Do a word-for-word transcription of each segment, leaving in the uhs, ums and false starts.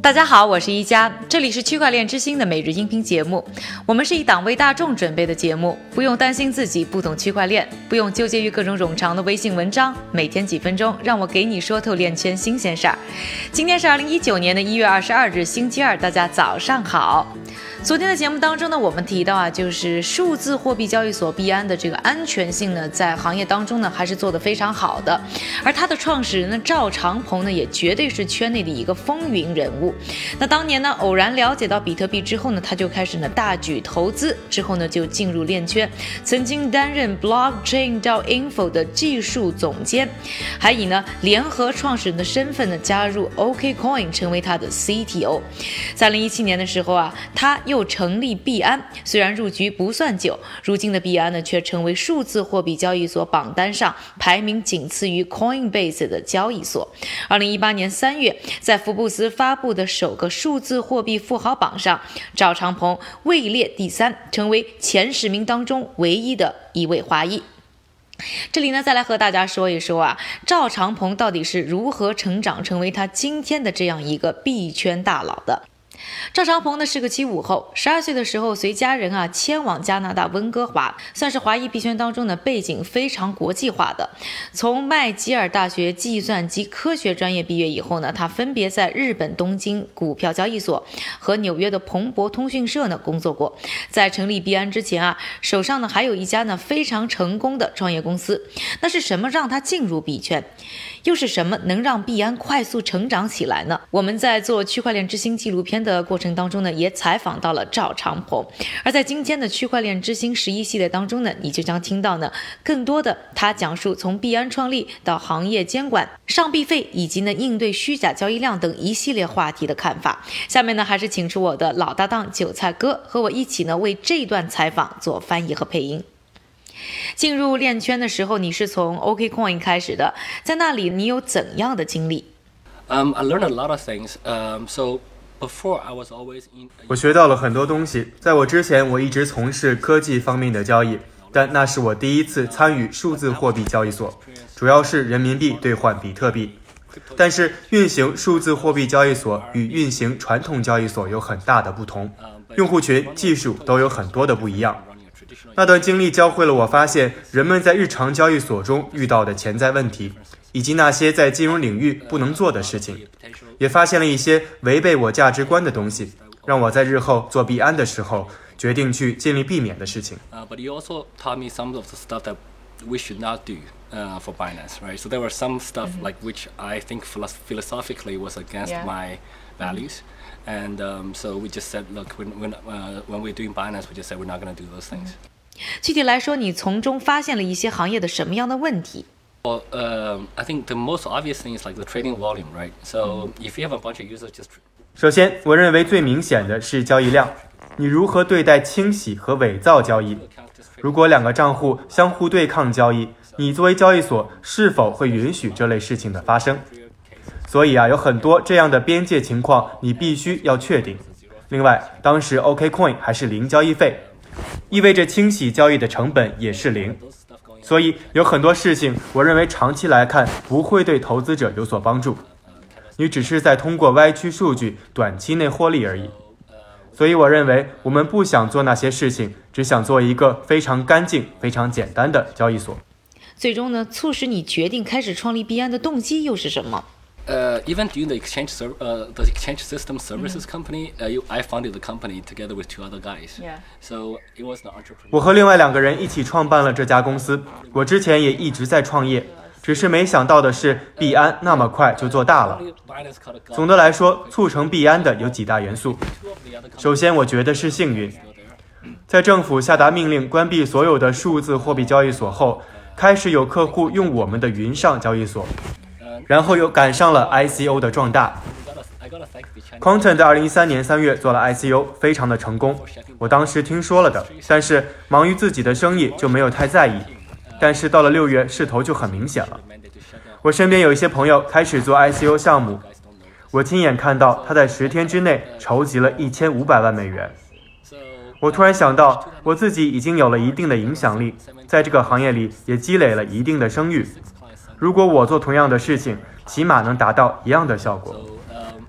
大家好，我是一加，这里是区块链之星的每日音频节目。我们是一档为大众准备的节目，不用担心自己不懂区块链，不用纠结于各种冗长的微信文章，每天几分钟，让我给你说透链圈新鲜事儿。今天是二零一九年的一月二十二日，星期二，大家早上好。昨天的节目当中呢，我们提到啊，就是数字货币交易所币安的这个安全性呢，在行业当中呢，还是做得非常好的。而它的创始人呢，赵长鹏呢，也绝对是圈内的一个风云人物。那当年呢，偶然了解到比特币之后呢，他就开始呢大举投资，之后呢就进入链圈，曾经担任 Blockchain 到 Info 的技术总监，还以呢联合创始人的身份呢加入 OKCoin， 成为他的 C T O。在二零一七年的时候啊，他又成立币安，虽然入局不算久，如今的币安呢却成为数字货币交易所榜单上排名仅次于 Coinbase 的交易所。二零一八年三月，在福布斯发布的首个数字货币富豪榜上，赵长鹏位列第三，成为前十名当中唯一的一位华裔。这里呢，再来和大家说一说啊，赵长鹏到底是如何成长成为他今天的这样一个币圈大佬的。赵长鹏呢是个七五后，十二岁的时候随家人啊迁往加拿大温哥华，算是华裔币圈当中的背景非常国际化的。从麦吉尔大学计算机科学专业毕业以后呢，他分别在日本东京股票交易所和纽约的彭博通讯社呢工作过。在成立币安之前啊，手上呢还有一家呢非常成功的创业公司。那是什么让他进入币圈？又是什么能让币安快速成长起来呢？我们在做区块链之星纪录片的过程当中呢，也采访到了赵长鹏。而在今天的区块链之星十一系列当中呢，你就将听到呢更多的他讲述从币安创立到行业监管、上币费以及呢应对虚假交易量等一系列话题的看法。下面呢，还是请出我的老搭档韭菜哥和我一起呢为这段采访做翻译和配音。进入链圈的时候，你是从 OKCoin 开始的，在那里你有怎样的经历？ Um, I learned a lot of things. Um, so before I was always in. 我学到了很多东西。在我之前，我一直从事科技方面的交易，但那是我第一次参与数字货币交易所，主要是人民币兑换比特币。但是运行数字货币交易所与运行传统交易所有很大的不同，用户群、技术都有很多的不一样。那段经历教会了我发现人们在日常交易所中遇到的潜在问题，以及那些在金融领域不能做的事情，也发现了一些违背我价值观的东西，让我在日后做币安的时候决定去尽力避免的事情。 Uh, but you also taught me some of the stuff that we should not do uh, for Binance, right? So there were some stuff mm-hmm. like which I think philosophically was against yeah. my values. And um, so we just said, look, when, when, uh, when we're doing Binance, we just said we're not going to do those things. 具体来说，你从中发现了一些行业的什么样的问题？ Well, uh, I think the most obvious thing is like the trading volume, right? So if you have a bunch of users just... 首先，我认为最明显的是交易量。你如何对待清洗和伪造交易？如果两个账户相互对抗交易，你作为交易所是否会允许这类事情的发生？所以啊，有很多这样的边界情况，你必须要确定。另外，当时 OKCoin 还是零交易费，意味着清洗交易的成本也是零。所以有很多事情，我认为长期来看不会对投资者有所帮助。你只是在通过歪曲数据短期内获利而已。所以我认为我们不想做那些事情，只想做一个非常干净、非常简单的交易所。 最终呢，促使你决定开始创立币安的动机又是什么 ？Uh, even during the exchange, ser- uh, the exchange system services mm-hmm. company, uh, you, I founded the company together with two other guys. Yeah. So it was the entrepreneur. 我和另外两个人一起创办了这家公司。我之前也一直在创业，只是没想到的是，币安那么快就做大了。总的来说，促成币安的有几大元素。首先，我觉得是幸运。在政府下达命令关闭所有的数字货币交易所后，开始有客户用我们的云上交易所。然后又赶上了 I C O 的壮大。Quantum 在二零一三年三月做了 I C O， 非常的成功。我当时听说了的，但是忙于自己的生意就没有太在意。但是到了六月，势头就很明显了。我身边有一些朋友开始做 I C O 项目，我亲眼看到他在十天之内筹集了一千五百万美元。我突然想到，我自己已经有了一定的影响力，在这个行业里也积累了一定的声誉。如果我做同样的事情，起码能达到一样的效果。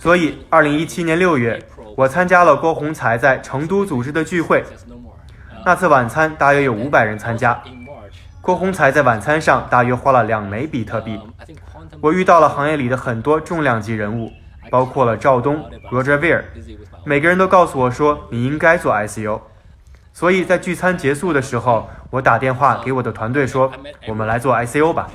所以二零一七年六月，我参加了郭宏才在成都组织的聚会。那次晚餐大约有五百人参加，郭宏才在晚餐上大约花了两枚比特币。我遇到了行业里的很多重量级人物，包括了赵东、Roger Ver， 每个人都告诉我说你应该做 I C O。所以在聚餐结束的时候，我打电话给我的团队说，我们来做 I C O 吧。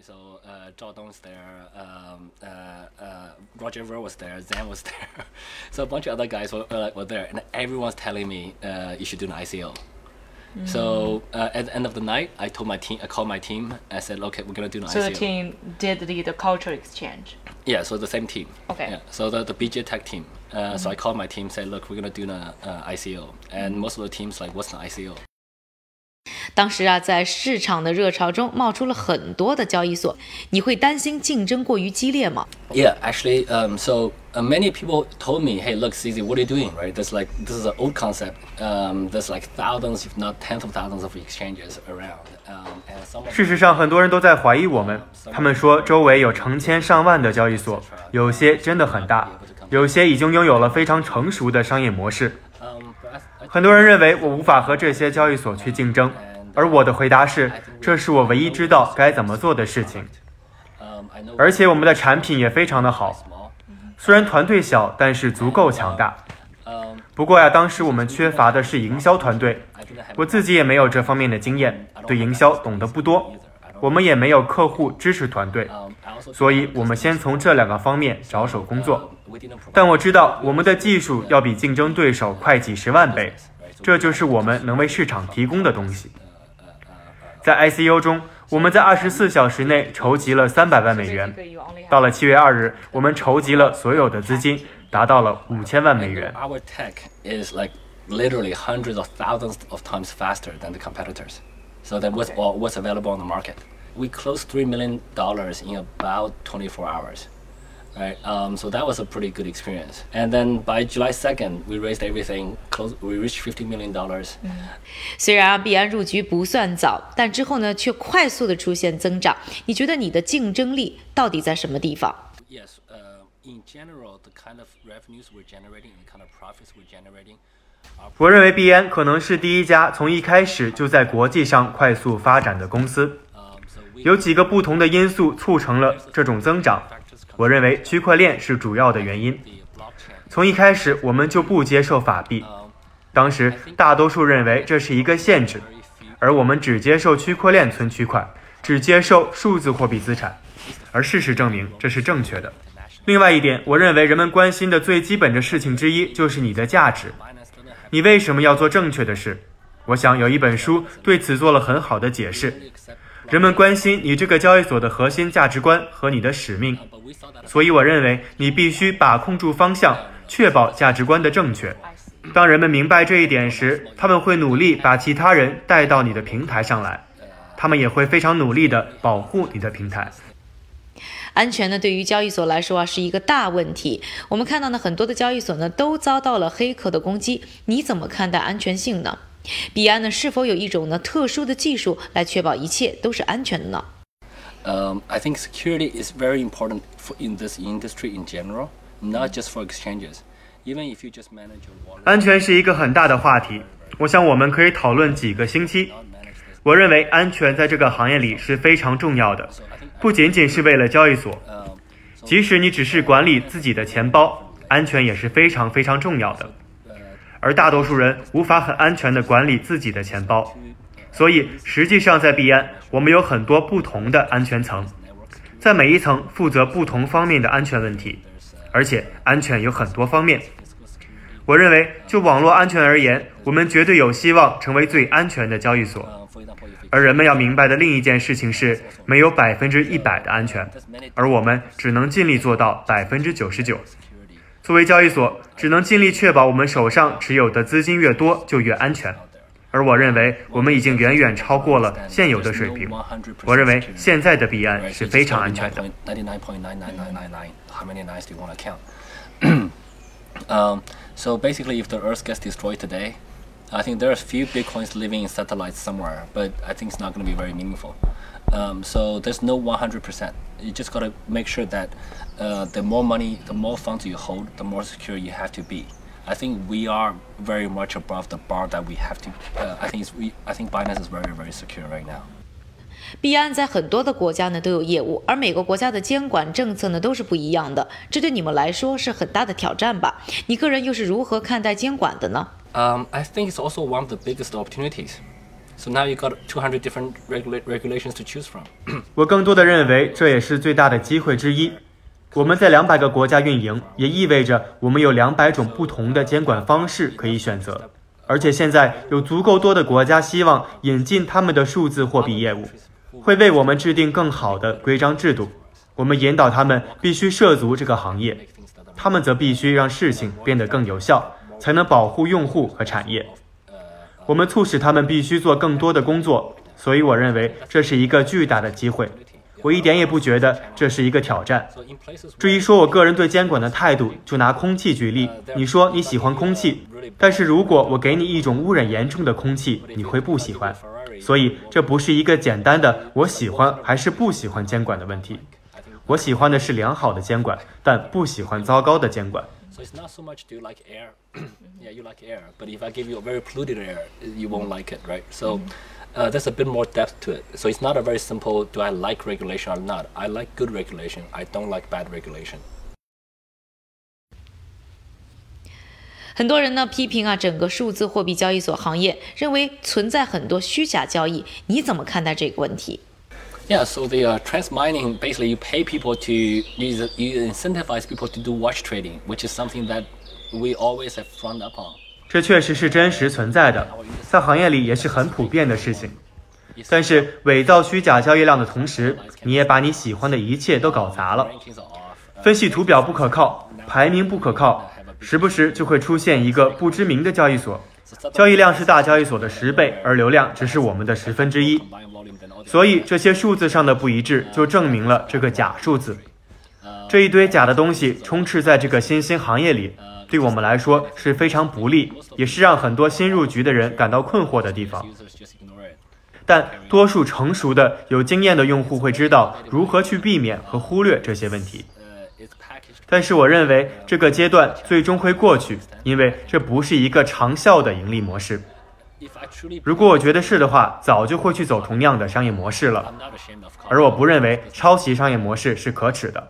Roger Ver was there, Zan was there, so a bunch of other guys were, uh, were there, and everyone's telling me uh, you should do an I C O. Mm. So uh, at the end of the night, I told my team, I called my team, I said, okay, we're gonna do an so I C O. So the team did the, the culture exchange. Yeah, so the same team. Okay. Yeah, so the the B J Tech team. Uh, mm-hmm. So I called my team, said, look, we're gonna do an uh, I C O, and mm-hmm. most of the teams like, what's an I C O? 当时啊，在市场的热潮中冒出了很多的交易所，你会担心竞争过于激烈吗？ Yeah, actually, um, so uh, many people told me, hey, look, C Z, what are you doing, right? There's like, this is an old concept. Um, there's like thousands, if not tens of thousands of exchanges around. Um, and some 事实上，很多人都在怀疑我们，他们说周围有成千上万的交易所，有些真的很大，有些已经拥有了非常成熟的商业模式。很多人认为我无法和这些交易所去竞争。而我的回答是，这是我唯一知道该怎么做的事情。而且我们的产品也非常的好，虽然团队小，但是足够强大。不过呀，当时我们缺乏的是营销团队，我自己也没有这方面的经验，对营销懂得不多。我们也没有客户支持团队，所以我们先从这两个方面着手工作。但我知道我们的技术要比竞争对手快几十万倍，这就是我们能为市场提供的东西。在 I C O 中，我们在二十四小时内筹集了三百万美元。到了七月二日，我们筹集了所有的资金，达到了五千万美元。 Our tech is like literally hundreds of thousands of times faster than the competitors. So that was all what's available on the market. We closed three million dollars in about twenty-four hours. Right, um, so that was a pretty good experience. And then by July second, we raised everything. Close, we reached fifty million dollars. 嗯，虽然啊，币安入局不算早，但之后呢，却快速的出现增长。你觉得你的竞争力到底在什么地方 ？Yes, uh, in general, the kind of revenues we're generating and the kind of profits we're generating. 我认为币安可能是第一家从一开始就在国际上快速发展的公司。有几个不同的因素促成了这种增长。我认为区块链是主要的原因。从一开始我们就不接受法币，当时大多数认为这是一个限制，而我们只接受区块链存取款，只接受数字货币资产，而事实证明这是正确的。另外一点，我认为人们关心的最基本的事情之一就是你的价值，你为什么要做正确的事？我想有一本书对此做了很好的解释。人们关心你这个交易所的核心价值观和你的使命，所以我认为你必须把控住方向，确保价值观的正确。当人们明白这一点时，他们会努力把其他人带到你的平台上来，他们也会非常努力地保护你的平台。 安全呢，对于交易所来说啊，是一个大问题。我们看到呢，很多的交易所呢都遭到了黑客的攻击。你怎么看待安全性呢？币安呢，是否有一种呢特殊的技术来确保一切都是安全的呢？ Um, I think security is very important for in this industry in general, not just for exchanges. Even if you just manage your wallet. 安全是一个很大的话题，我想我们可以讨论几个星期。我认为安全在这个行业里是非常重要的，不仅仅是为了交易所，即使你只是管理自己的钱包，安全也是非常非常重要的。而大多数人无法很安全地管理自己的钱包，所以实际上在币安，我们有很多不同的安全层，在每一层负责不同方面的安全问题，而且安全有很多方面。我认为就网络安全而言，我们绝对有希望成为最安全的交易所。而人们要明白的另一件事情是，没有百分之一百的安全，而我们只能尽力做到百分之九十九。作为交易所，只能尽力确保我们手上持有的资金越多就越安全，而我认为我们已经远远超过了现有的水平。我认为现在的币安是非常安全的。 um, so basically, if the Earth gets destroyed today, I think there are a few bitcoins living in satellites somewhere, but I think it's not going to be very meaningful. Um, so there's no one hundred percent. You just got to make sure that uh, the more money, the more funds you hold, the more secure you have to be. I think we are very much above the bar that we have to. Uh, I think it's, we. I think Binance is very, very secure right now. 币安在很多的国家呢都有业务，而每个国家的监管政策呢都是不一样的，这对你们来说是很大的挑战吧？你个人又是如何看待监管的呢？ Um, I think it's also one of the biggest opportunities. So now you got two hundred different regula- regulations to choose from. 我更多的认为这也是最大的机会之一。我们在两百个国家运营，也意味着我们有两百种不同的监管方式可以选择。而且现在有足够多的国家希望引进他们的数字货币业务，会为我们制定更好的规章制度。我们引导他们必须涉足这个行业，他们则必须让事情变得更有效，才能保护用户和产业。我们促使他们必须做更多的工作，所以我认为这是一个巨大的机会。我一点也不觉得这是一个挑战。至于说我个人对监管的态度，就拿空气举例，你说你喜欢空气，但是如果我给你一种污染严重的空气，你会不喜欢。所以这不是一个简单的我喜欢还是不喜欢监管的问题。我喜欢的是良好的监管，但不喜欢糟糕的监管。 So it's not so much do you like air. Yeah, you like air. But if I give you a very polluted air, you won't like it, right? So uh, there's a bit more depth to it. So it's not a very simple, do I like regulation or not? I like good regulation. I don't like bad regulation. 很多人呢批评啊整个数字货币交易所行业，认为存在很多虚假交易。你怎么看待这个问题？ Yeah, so the uh, trans mining, basically you pay people to, you, you incentivize people to do watch trading, which is something that we always have frowned upon. 这确实是真实存在的，在行业里也是很普遍的事情。但是伪造虚假交易量的同时，你也把你喜欢的一切都搞砸了。分析图表不可靠，排名不可靠，时不时就会出现一个不知名的交易所，交易量是大交易所的十倍，而流量只是我们的十分之一。所以这些数字上的不一致就证明了这个假数字。这一堆假的东西充斥在这个新兴行业里，对我们来说是非常不利，也是让很多新入局的人感到困惑的地方。但多数成熟的有经验的用户会知道如何去避免和忽略这些问题。但是我认为这个阶段最终会过去，因为这不是一个长效的盈利模式。如果我觉得是的话，早就会去走同样的商业模式了。而我不认为抄袭商业模式是可耻的。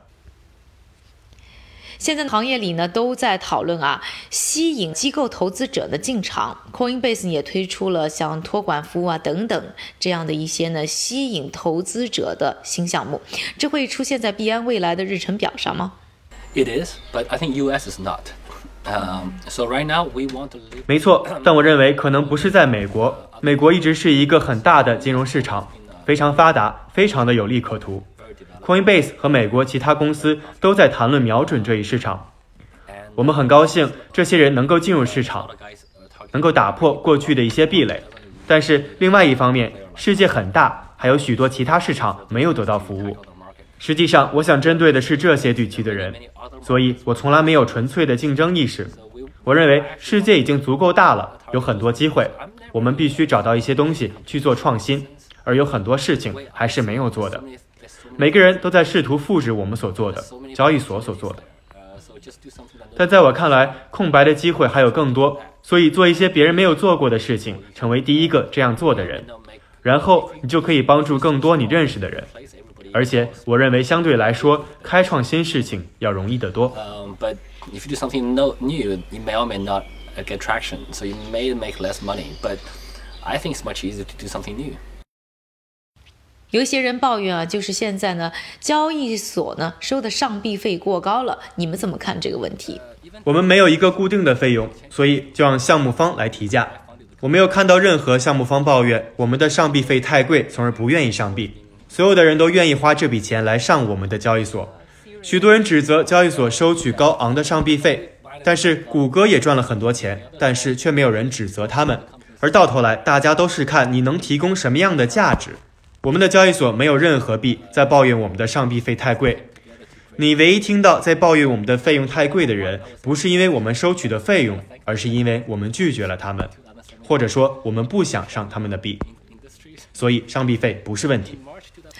现在行业里呢都在讨论啊，吸引机构投资者的进场。Coinbase 也推出了像托管服务啊等等这样的一些呢吸引投资者的新项目，这会出现在币安未来的日程表上吗？ It is, but I think U S is not. Um, so right now we want to live... 没错，但我认为可能不是在美国。美国一直是一个很大的金融市场，非常发达，非常的有利可图。Coinbase 和美国其他公司都在谈论瞄准这一市场。我们很高兴这些人能够进入市场，能够打破过去的一些壁垒。但是另外一方面，世界很大，还有许多其他市场没有得到服务。实际上我想针对的是这些地区的人，所以我从来没有纯粹的竞争意识。我认为世界已经足够大了，有很多机会，我们必须找到一些东西去做创新，而有很多事情还是没有做的。每个人都在试图复制我们所做的，交易所所做的。但在我看来，空白的机会还有更多，所以做一些别人没有做过的事情，成为第一个这样做的人，然后你就可以帮助更多你认识的人。而且我认为相对来说，开创新事情要容易得多。 Um, but if you do something no, new, you may or may not get traction, so you may make less money. But I think it's much easier to do something new. 有一些人抱怨啊，就是现在呢，交易所呢收的上币费过高了，你们怎么看这个问题？ 我们没有一个固定的费用，所以就让项目方来提价。我没有看到任何项目方抱怨我们的上币费太贵，从而不愿意上币。所有的人都愿意花这笔钱来上我们的交易所。许多人指责交易所收取高昂的上币费，但是谷歌也赚了很多钱，但是却没有人指责他们。而到头来，大家都是看你能提供什么样的价值。我们的交易所没有任何币在抱怨我们的上币费太贵。你唯一听到在抱怨我们的费用太贵的人，不是因为我们收取的费用，而是因为我们拒绝了他们，或者说我们不想上他们的币。所以上币费不是问题。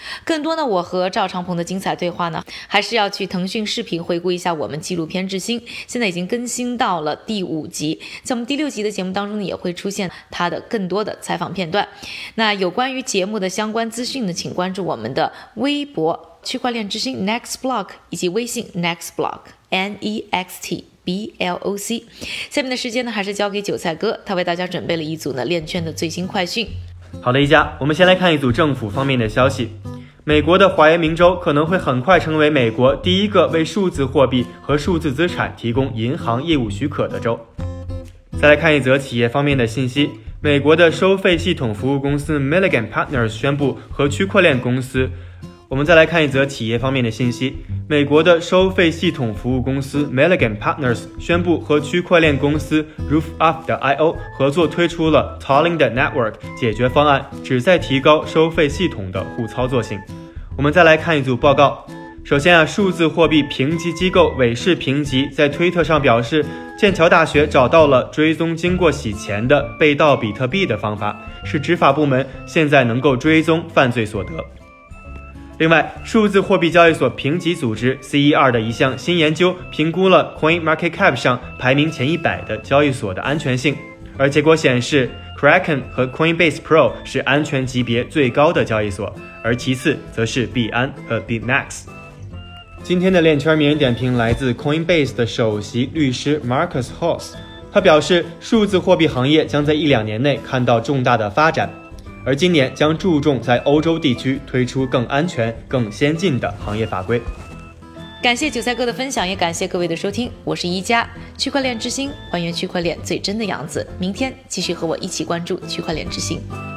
更多呢，我和赵长鹏的精彩对话呢，还是要去腾讯视频回顾一下我们纪录片之星，现在已经更新到了第五集，在我们第六集的节目当中呢，也会出现他的更多的采访片段。那有关于节目的相关资讯呢，请关注我们的微博区块链之星 Next Block 以及微信 Next Block N E X T B L O C。 下面的时间呢，还是交给韭菜哥，他为大家准备了一组呢链圈的最新快讯。 好的，一家，我们先来看一组政府方面的消息。美国的怀俄明州可能会很快成为美国第一个为数字货币和数字资产提供银行业务许可的州。再来看一则企业方面的信息，美国的收费系统服务公司 Milligan Partners 宣布和区块链公司我们再来看一则企业方面的信息，美国的收费系统服务公司 Milligan Partners 宣布和区块链公司 Roof Up 的 I O 合作推出了 Tolling 的 Network 解决方案，旨在提高收费系统的互操作性。我们再来看一组报告。首先啊，数字货币评级机构韦氏评级在推特上表示，剑桥大学找到了追踪经过洗钱的被盗比特币的方法，使执法部门现在能够追踪犯罪所得。另外，数字货币交易所评级组织 C E R 的一项新研究评估了 CoinMarketCap 上排名前一百的交易所的安全性，而结果显示 Kraken 和 Coinbase Pro 是安全级别最高的交易所，而其次则是币安和 BitMax。 今天的链圈名人点评来自 Coinbase 的首席律师 Marcus Hoss， 他表示数字货币行业将在一两年内看到重大的发展，而今年将注重在欧洲地区推出更安全、更先进的行业法规。 感谢韭菜哥的分享，也感谢各位的收听，我是一加，区块链之星，还原区块链最真的样子。明天继续和我一起关注区块链之星。